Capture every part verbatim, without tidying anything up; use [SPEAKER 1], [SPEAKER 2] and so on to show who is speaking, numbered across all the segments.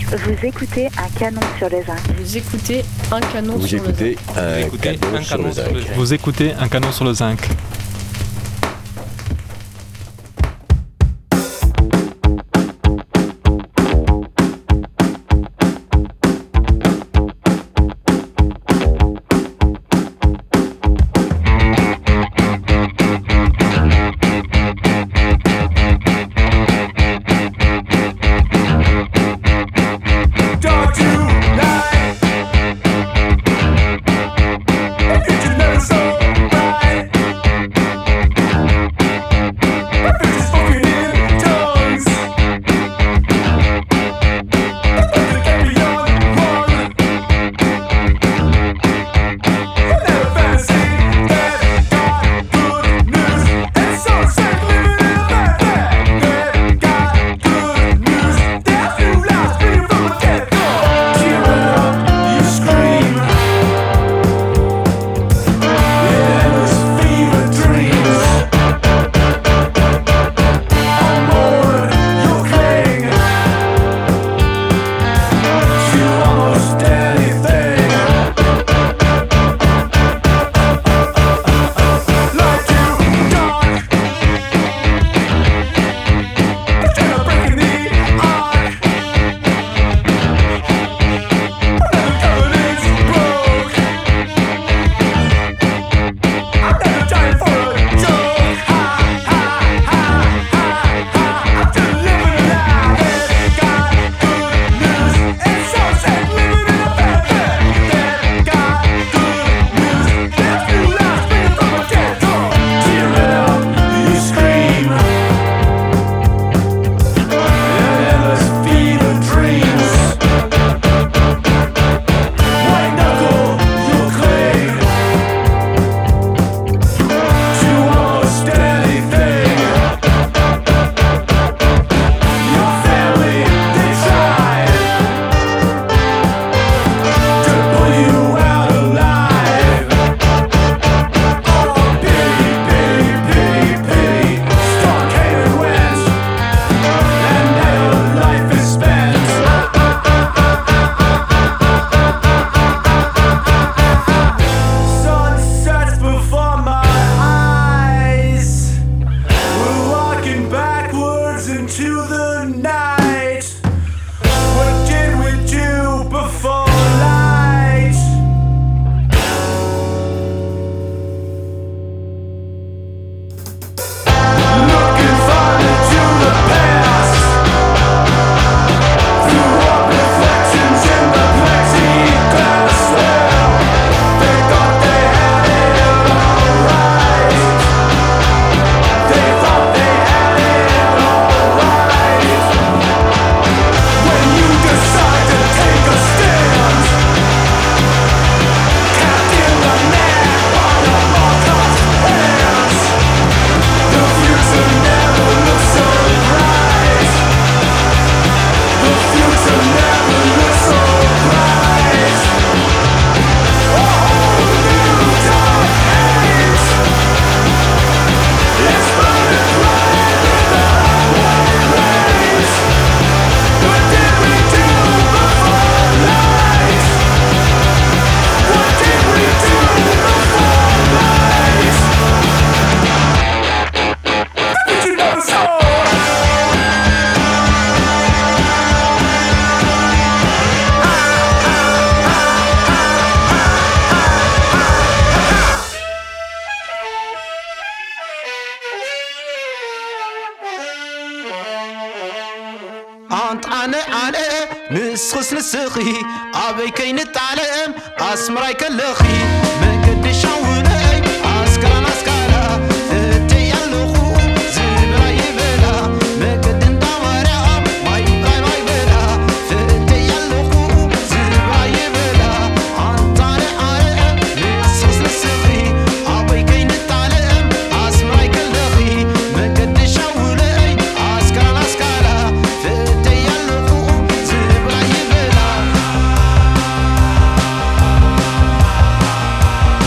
[SPEAKER 1] Vous écoutez un canon sur le zinc.
[SPEAKER 2] Vous écoutez un canon
[SPEAKER 3] Vous
[SPEAKER 2] sur le
[SPEAKER 3] écoutez
[SPEAKER 2] zinc.
[SPEAKER 3] un
[SPEAKER 4] Vous écoutez
[SPEAKER 3] canon
[SPEAKER 4] un
[SPEAKER 3] sur
[SPEAKER 4] canon
[SPEAKER 3] le
[SPEAKER 4] sur
[SPEAKER 3] zinc.
[SPEAKER 4] le zinc.
[SPEAKER 5] Vous écoutez un canon sur le zinc.
[SPEAKER 6] أنا أنا نسخس نسخي أبي كي نتعلم أسمراي كالخي ما قدش عوني عسكرا عسكرا ثتي اللخو زبرا يبلا ما قد ندورا ما يبغى ما يبلا ثتي اللخو زبرا يبلا أنطاني أنا نسخس نسخي أبي كي نتعلم أسمراي كالخي ما قدش عوني عسكرا عسكرا ثتي اللخو زبرا يبلا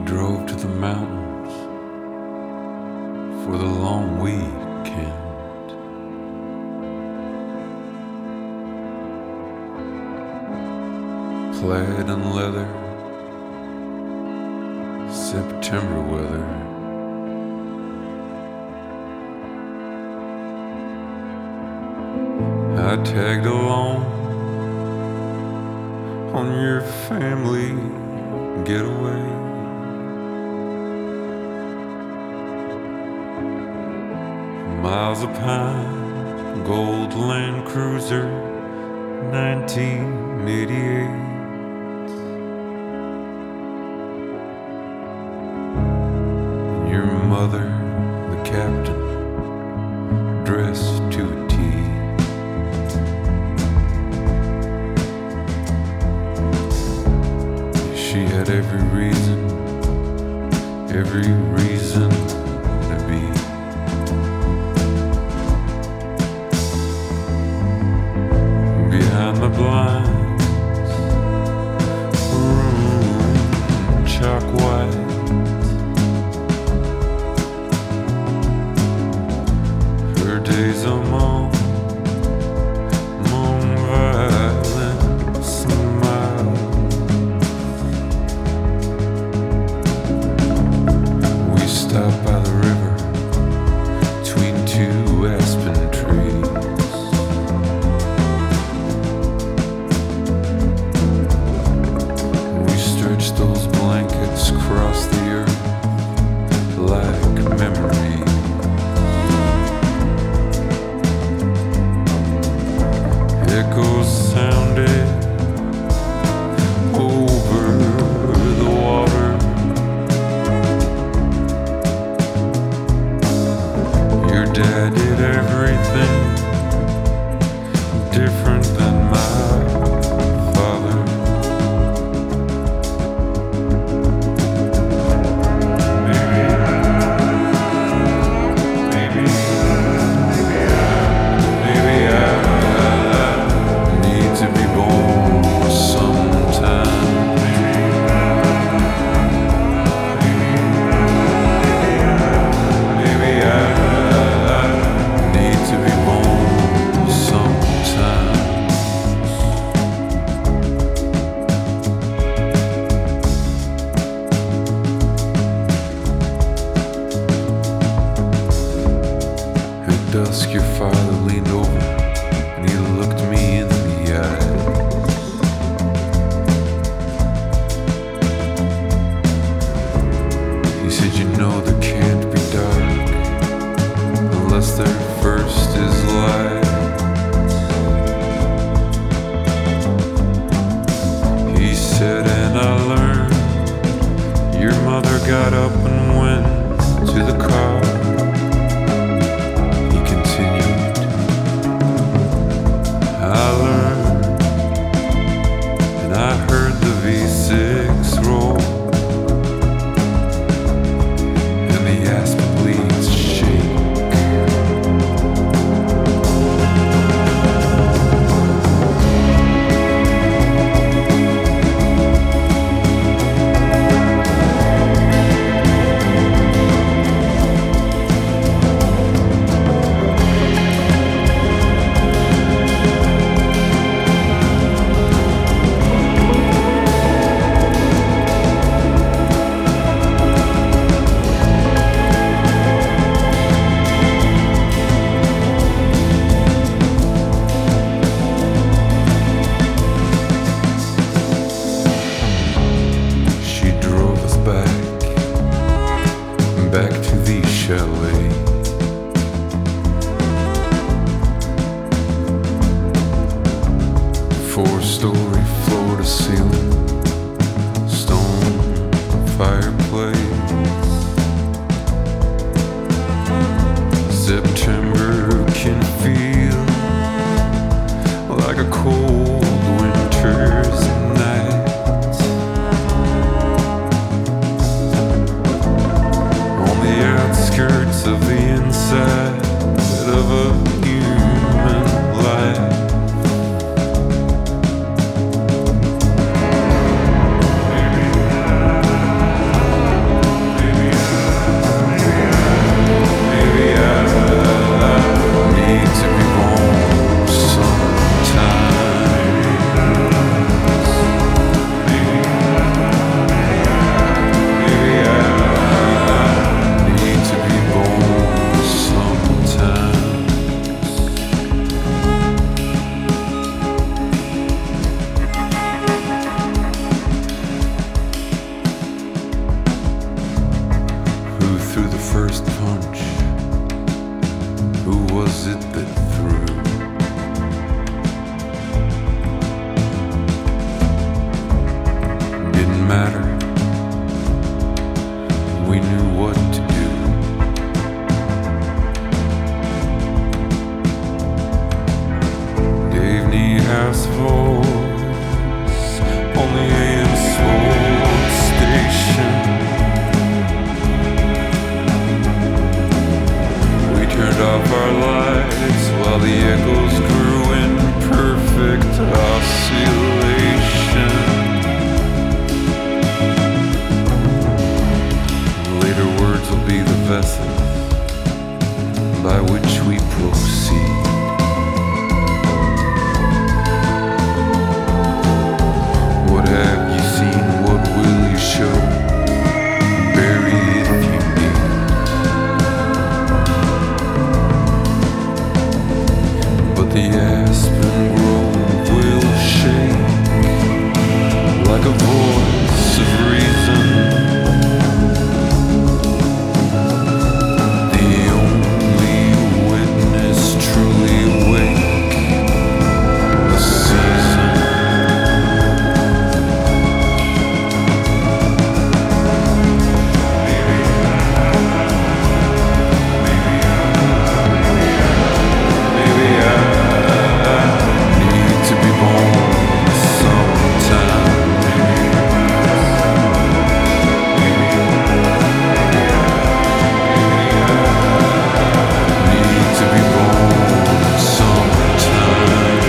[SPEAKER 2] drove to the mountains for the long weekend. Plaid and leather, September weather. I tagged along on your family getaway. Miles of pine, gold Land Cruiser, nineteen eighty-eight. Your mother, the captain, dressed to a T. She had every reason, every reason to be. Behind the blinds, room chalk white. Her days among, among violent smiles. We stopped by the river between two aspen trees. We stretched those blankets across the earth like memories. Echoes sounded over the water. Your dad did everything different than my father. Maybe, maybe, maybe I, maybe I need to be born sometime. Maybe I need to be born sometime. At dusk, your father leaned over and he looked me in the eye. He said, you know there can't be dark unless there first is light. He said, and I learned your mother got up and went to the car. He continued, I learned, and I heard the V six roll, and the aspen leaves shake. She drove us back, back to the chalet. Four-story floor to ceiling, stone fireplace. September can feel like a cold winter's night. On the outskirts of the inside of a human life. Maybe matter. We knew what to do. Dave Niehaus voice on the A M Sword station. We turned off our lights while the echoes grew in perfect oscillation. Later words will be the vessels by which we proceed. What have you seen? What will you show? Bury if you need. But the aspen grove will shake like a voice of reason. The only witness truly awake, the season. Maybe I need to be born sometime. Need to be born sometimes.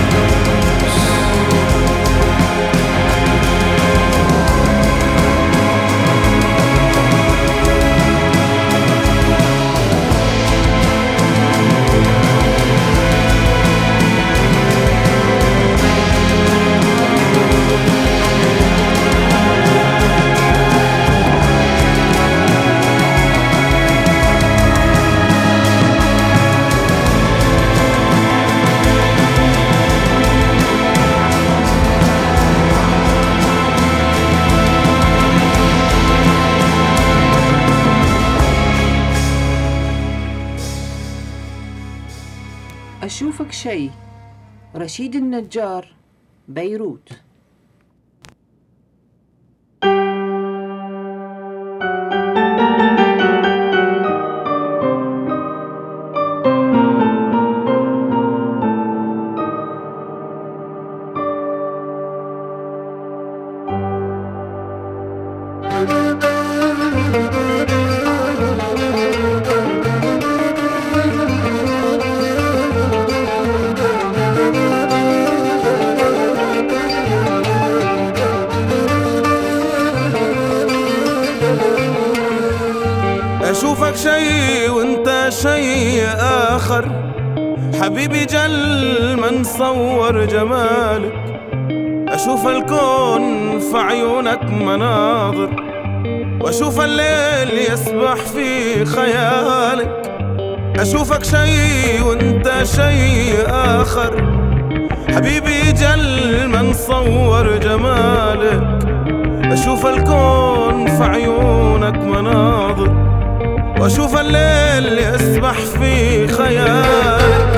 [SPEAKER 3] أشوفك شي. رشيد النجار، بيروت.
[SPEAKER 4] أشوفك شي وانت شي آخر حبيبي، جل ما نصور جمالك. أشوف الكون في عيونك مناظر، وأشوف الليل يسبح في خيالك. أشوفك شي وانت شي آخر حبيبي، جل ما نصور جمالك. أشوف الكون في عيونك مناظر، وأشوف الليل يسبح في خيالك.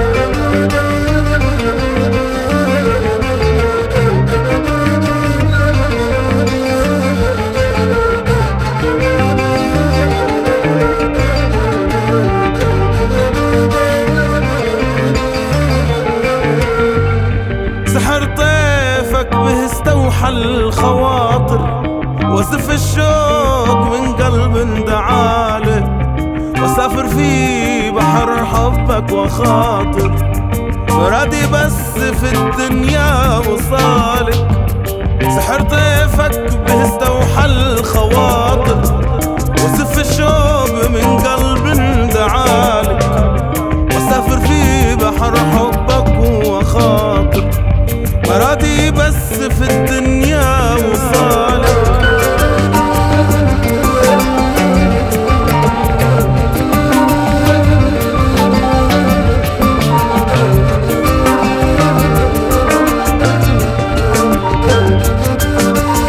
[SPEAKER 4] سحر طيفك به استوحى الخواطر، وزف الشوق من قلب دعالك. وسافر في بحر حبك وخاطر، مرادي بس في الدنيا وصالك. سحر طيفك به استوحى الخواطر، وزف الشوق من قلب دعالك. وسافر في بحر حبك وخاطر، مرادي بس في الدنيا وصالك.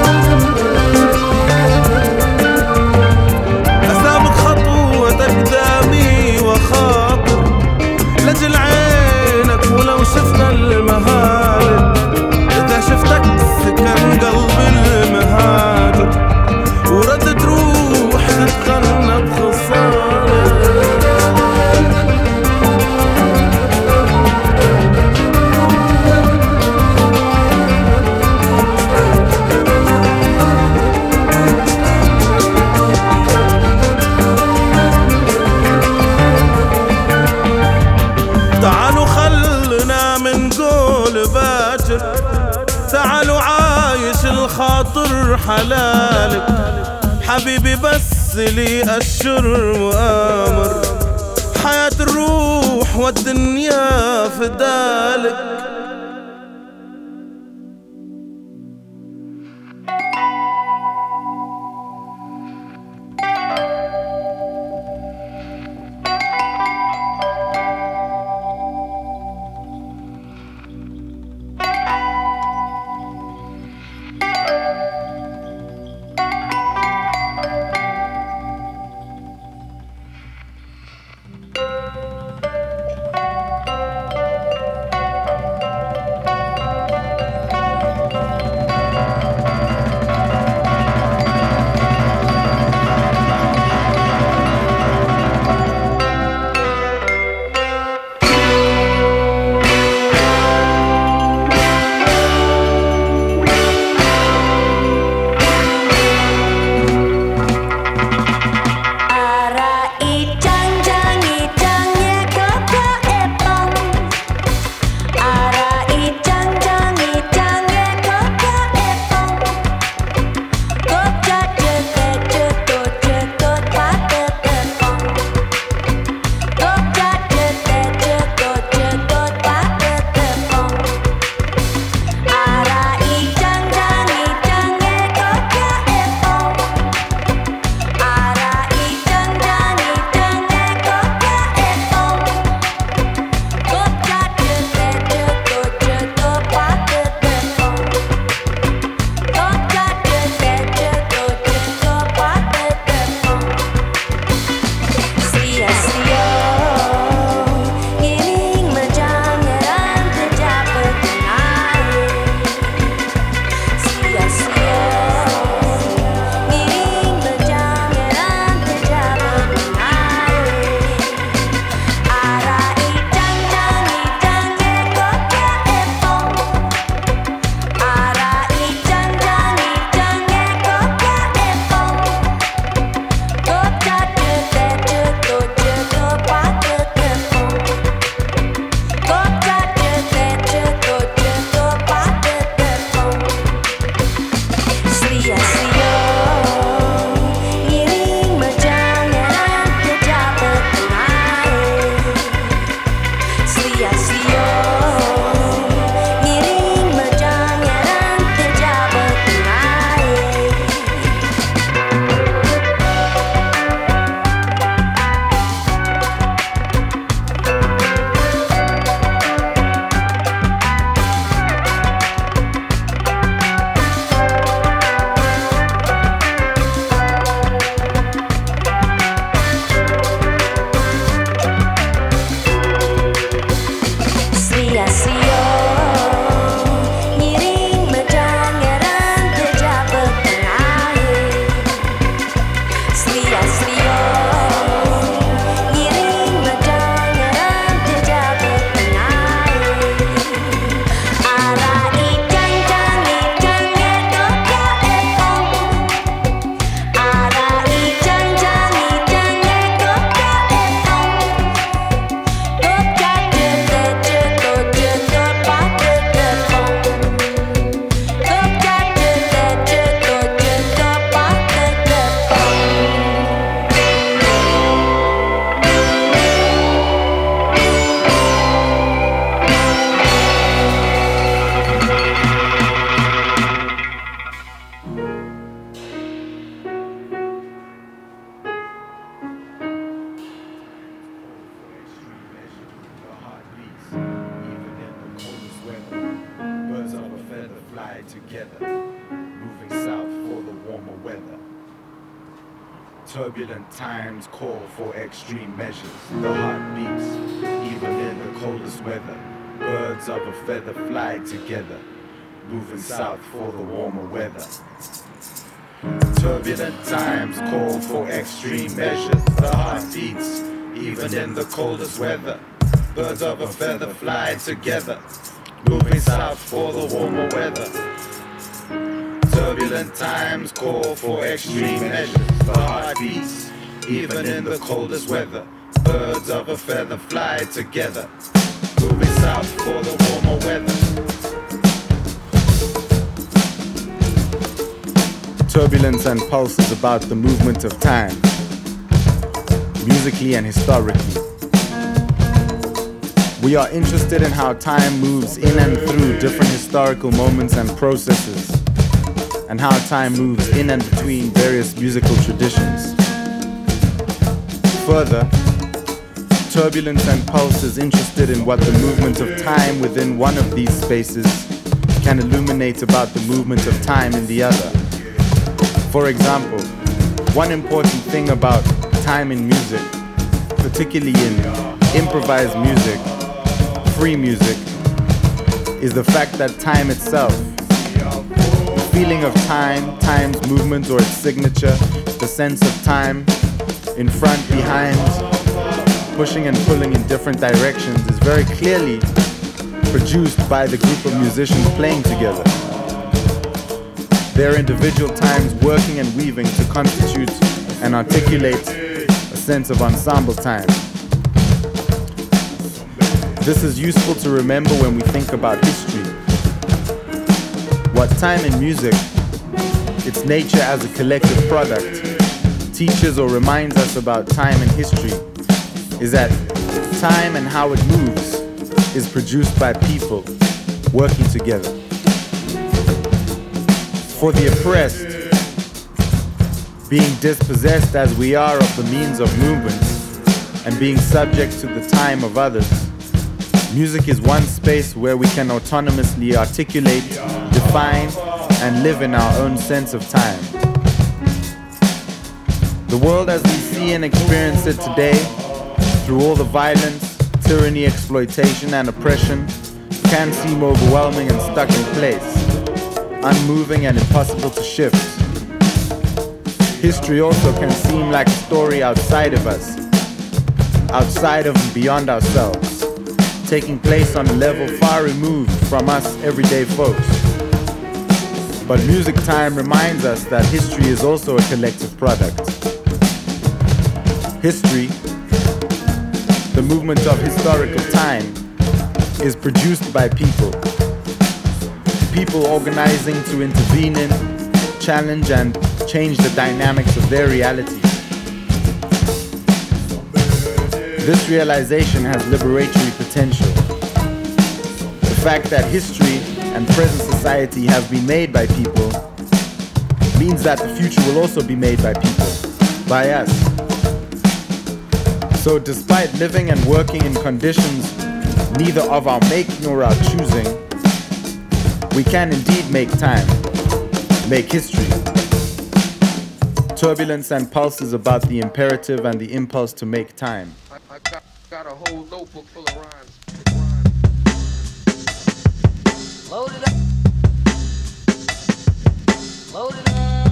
[SPEAKER 4] أسابق خطوتك حلالك حبيبي بس لي أشر وآمر حياة الروح والدنيا فدالك
[SPEAKER 7] Turbulent times call for extreme measures. The heart beats, even in the coldest weather. Birds of a feather fly together, moving south for the warmer weather. Turbulent times call for extreme measures. The heart beats, even in the coldest weather. Birds of a feather fly together, moving south for the warmer weather. Turbulent times call for extreme measures. The heart beats, even in the coldest weather. Birds of a feather fly together, moving south for the warmer weather.
[SPEAKER 8] Turbulence and Pulse is about the movement of time, musically and historically. We are interested in how time moves in and through different historical moments and processes, and how time moves in and between various musical traditions. Further, Turbulence and Pulse is interested in what the movement of time within one of these spaces can illuminate about the movement of time in the other. For example, one important thing about time in music, particularly in improvised music, free music, is the fact that time itself, the feeling of time, time's movement or its signature, the sense of time, in front, behind, pushing and pulling in different directions, is very clearly produced by the group of musicians playing together. Their individual times working and weaving to constitute and articulate a sense of ensemble time. This is useful to remember when we think about history. What time in music, its nature as a collective product, teaches or reminds us about time and history is that time and how it moves is produced by people working together. For the oppressed, being dispossessed as we are of the means of movement and being subject to the time of others, music is one space where we can autonomously articulate, define, and live in our own sense of time. The world as we see and experience it today, through all the violence, tyranny, exploitation, and oppression, can seem overwhelming and stuck in place, unmoving and impossible to shift. History also can seem like a story outside of us, outside of and beyond ourselves, taking place on a level far removed from us everyday folks. But music time reminds us that history is also a collective product. History, the movement of historical time, is produced by people. People organizing to intervene in, challenge and change the dynamics of their reality. This realization has liberatory potential. The fact that history and present society have been made by people means that the future will also be made by people, by us. So despite living and working in conditions neither of our make nor our choosing, we can indeed make time, make history. Turbulence and Pulse is about the imperative and the impulse to make time.
[SPEAKER 9] I, I got, got a whole notebook full of rhymes. Load it up. Load it up.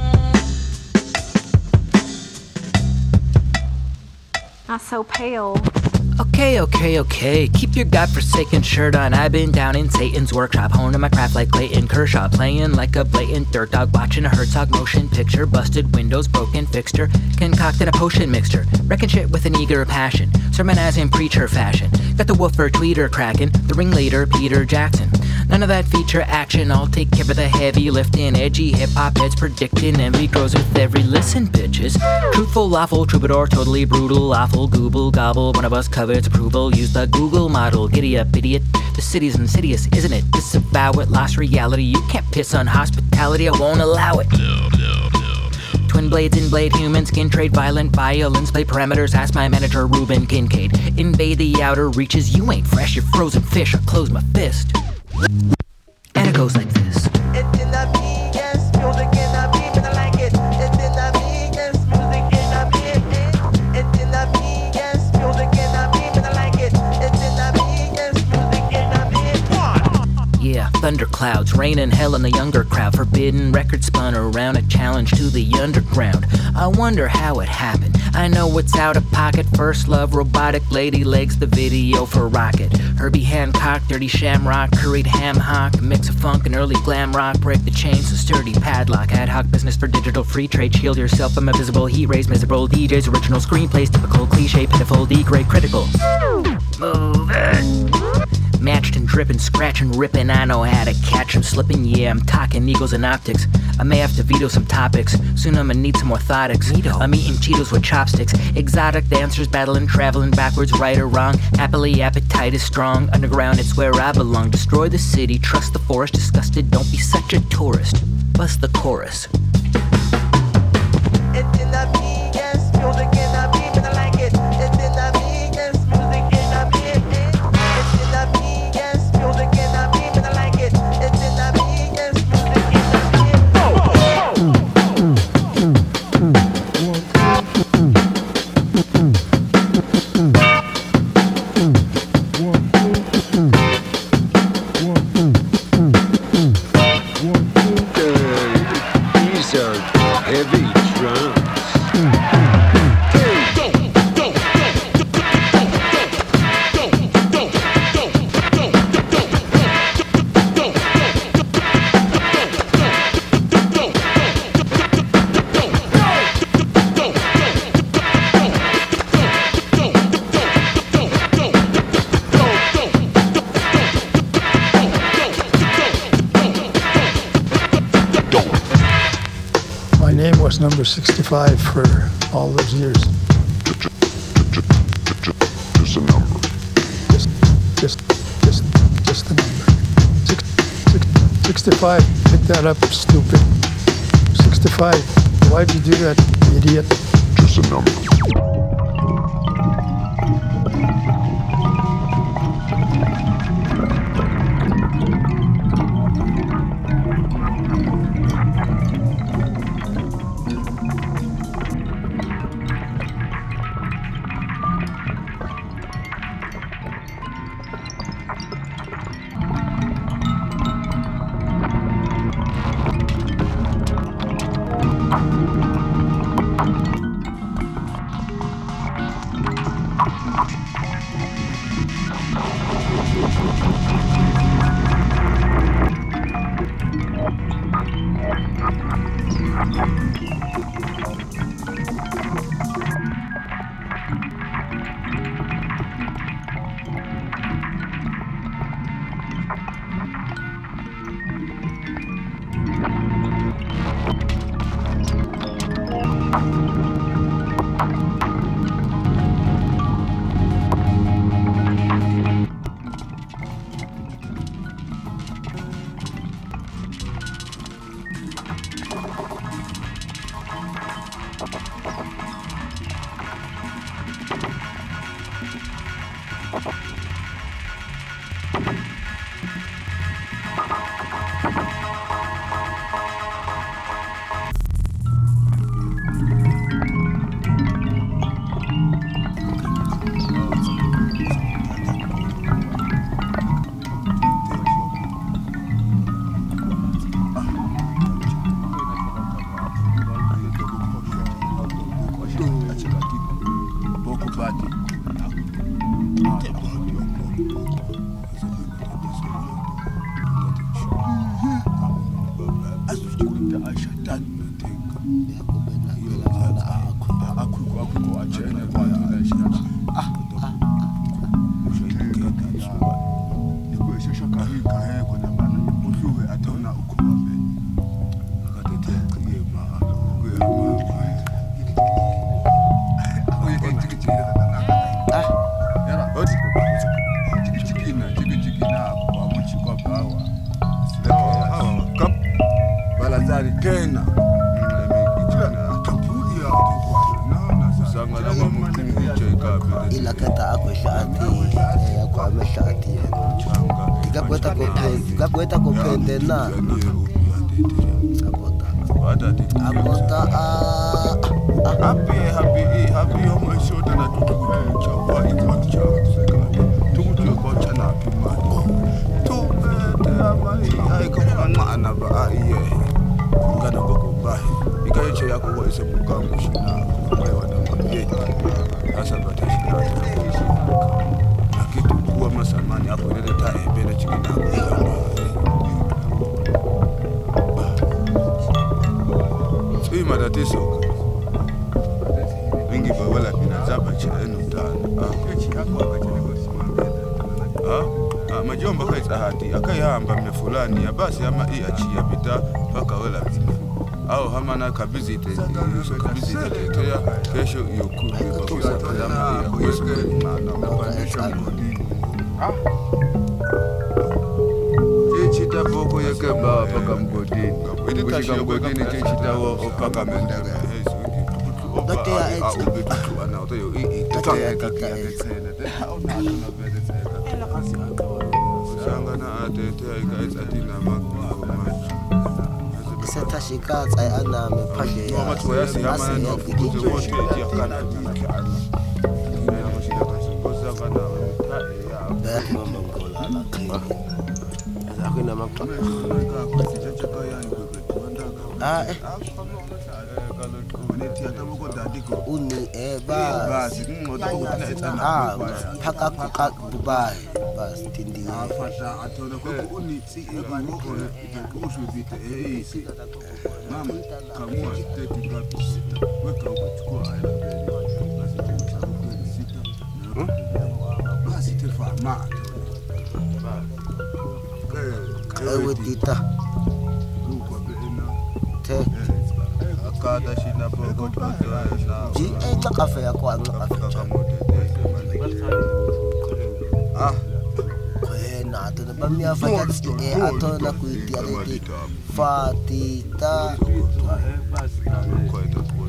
[SPEAKER 1] Not so pale.
[SPEAKER 10] Okay, okay, okay. Keep your godforsaken shirt on. I've been down in Satan's workshop, honing my craft like Clayton Kershaw, playing like a blatant dirt dog, watching a Herzog motion picture, busted windows, broken fixture, concocting a potion mixture, wrecking shit with an eager passion, sermonizing preacher fashion. Got the woofer tweeter cracking, the ringleader Peter Jackson. None of that feature action, I'll take care of the heavy lifting, edgy hip-hop heads predicting envy grows with every listen, bitches. Truthful, lawful, troubadour, totally brutal, awful, gooble, gobble, one of us covets approval, use the Google model, giddy up, idiot. The city's insidious, isn't it? Disavow it, lost reality, you can't piss on hospitality, I won't allow it. No, no, no. Twin blades, in blade, human skin trade, violent violence, play parameters, ask my manager Ruben Kincaid. Invade the outer reaches, you ain't fresh, you're frozen fish, I'll close my fist. And it goes like this.
[SPEAKER 11] It's in the me, yes, music in the me, but I like it. It's in the me, yes, music in the me, it's in the me, yes, music in the me, but I like it. It's in the me, yes, music in the me.
[SPEAKER 10] Yeah, thunderclouds, rain and hell in the younger crowd, forbidden records spun around, a challenge to the underground. I wonder how it happened. I know it's out of pocket. First love, robotic lady legs, the video for Rocket. Herbie Hancock, dirty shamrock, curried ham hock, mix of funk and early glam rock. Break the chains, a sturdy padlock. Ad hoc business for digital free trade. Shield yourself from a visible heat rays. Miserable D Js, original screenplays, typical cliche, pitiful, degrade, critical. Move it. Matched and dripping, scratching, ripping. I know how to catch 'em slipping. Yeah, I'm talking eagles and optics. I may have to veto some topics. Soon I'ma need some orthotics. I'm eating Cheetos with chopsticks. Exotic dancers battling, traveling backwards, right or wrong. Happily, appetite is strong. Underground, it's where I belong. Destroy the city, trust the forest. Disgusted, don't be such a tourist. Bust the chorus.
[SPEAKER 11] It's in the me, yes, music in the me, but I like it. It's in the me, yes, music in the me. It's in the me, yes, music in the me, but I like it. It's in the me, yes, music in the
[SPEAKER 12] These are heavy drums.
[SPEAKER 13] My name was number sixty-five for all those years.
[SPEAKER 14] Just a number.
[SPEAKER 13] Just, just, just, just the number. Six, six, sixty-five, pick that up, stupid. sixty-five, why'd you do that, idiot?
[SPEAKER 14] Just a number.
[SPEAKER 15] majomba kaita hati akayamba mne fulani ya basi ama i achia bita paka wela bina au hamana kabizite yuso kabizite tetea kesho yokuri bakusa kadama ya kuyesu ah chita boko yake ba paka mgodini kushika mgodini chita wo paka mendega
[SPEAKER 16] Dati ya ex
[SPEAKER 15] ana oto yo i tata ya kaka ya tsena ona ana bele tsena sangana atete ay guys atina makko
[SPEAKER 16] Seta shika tsai ana me phage ya
[SPEAKER 15] mama to yasi hama no fukuze wote ya kana dike ana ina no shida kashi bosa kana ta ya
[SPEAKER 16] mama ngola la kini akina makka ah eh uni eh bas ah phaka kuka dubai bas tindi
[SPEAKER 15] afata atona ko uni tsi e ko ko ushubite eh isi mama kamua tete ngapi sita weka huko chukua aina mbele basi tena kwa sita basi tefa ma
[SPEAKER 16] ewe tita te
[SPEAKER 15] akada shina bogo na
[SPEAKER 16] ji eh kafe ya kwa kafe
[SPEAKER 15] ah
[SPEAKER 16] kwena atona bamia fanya eh atona kuitia leti fatita
[SPEAKER 15] basi kwa ita kwa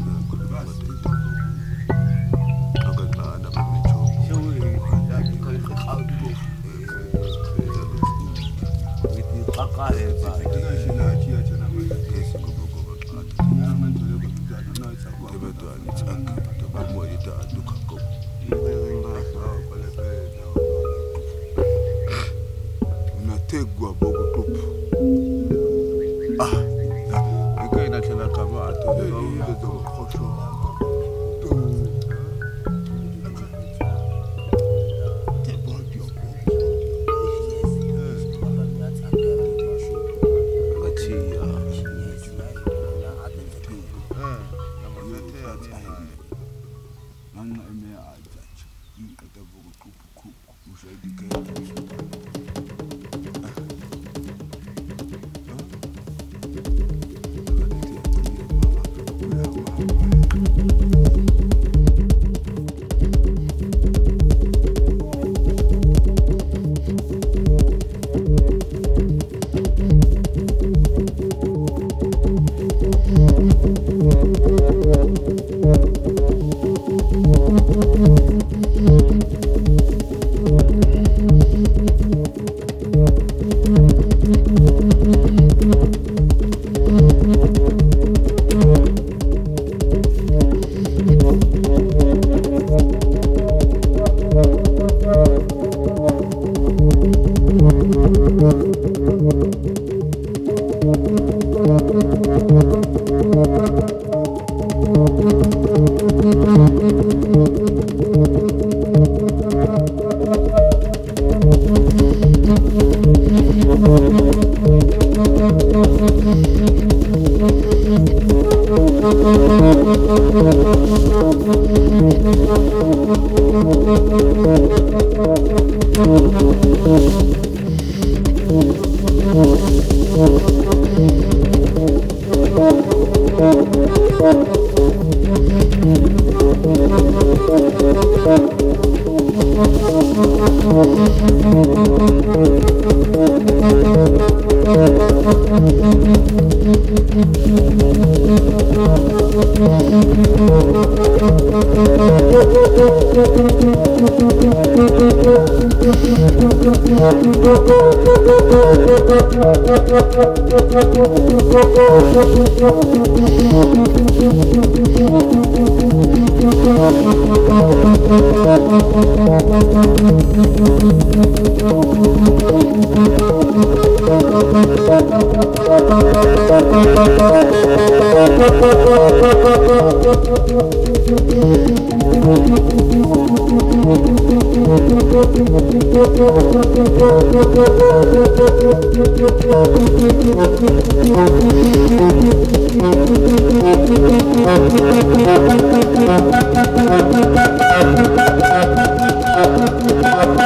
[SPEAKER 15] unategwa bogo tupu ah ikaina tena kama atolewa ungezo khosho
[SPEAKER 11] Thank you.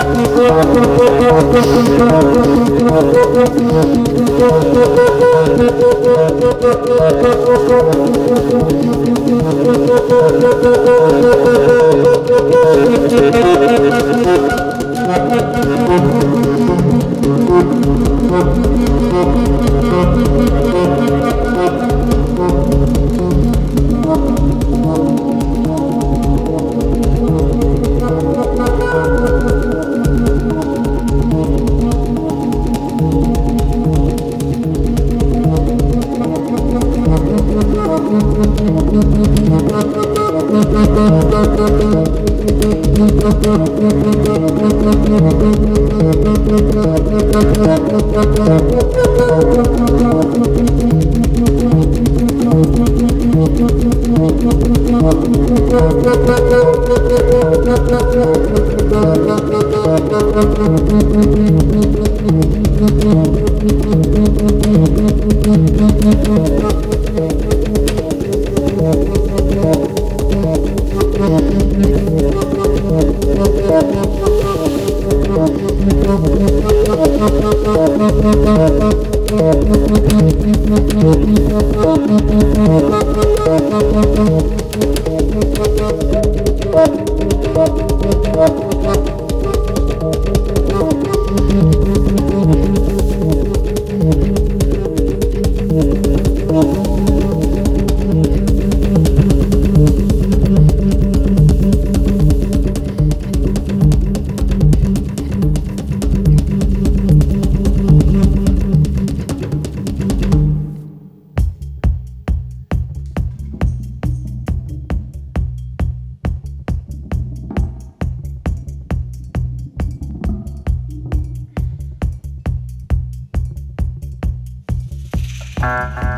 [SPEAKER 17] Uh...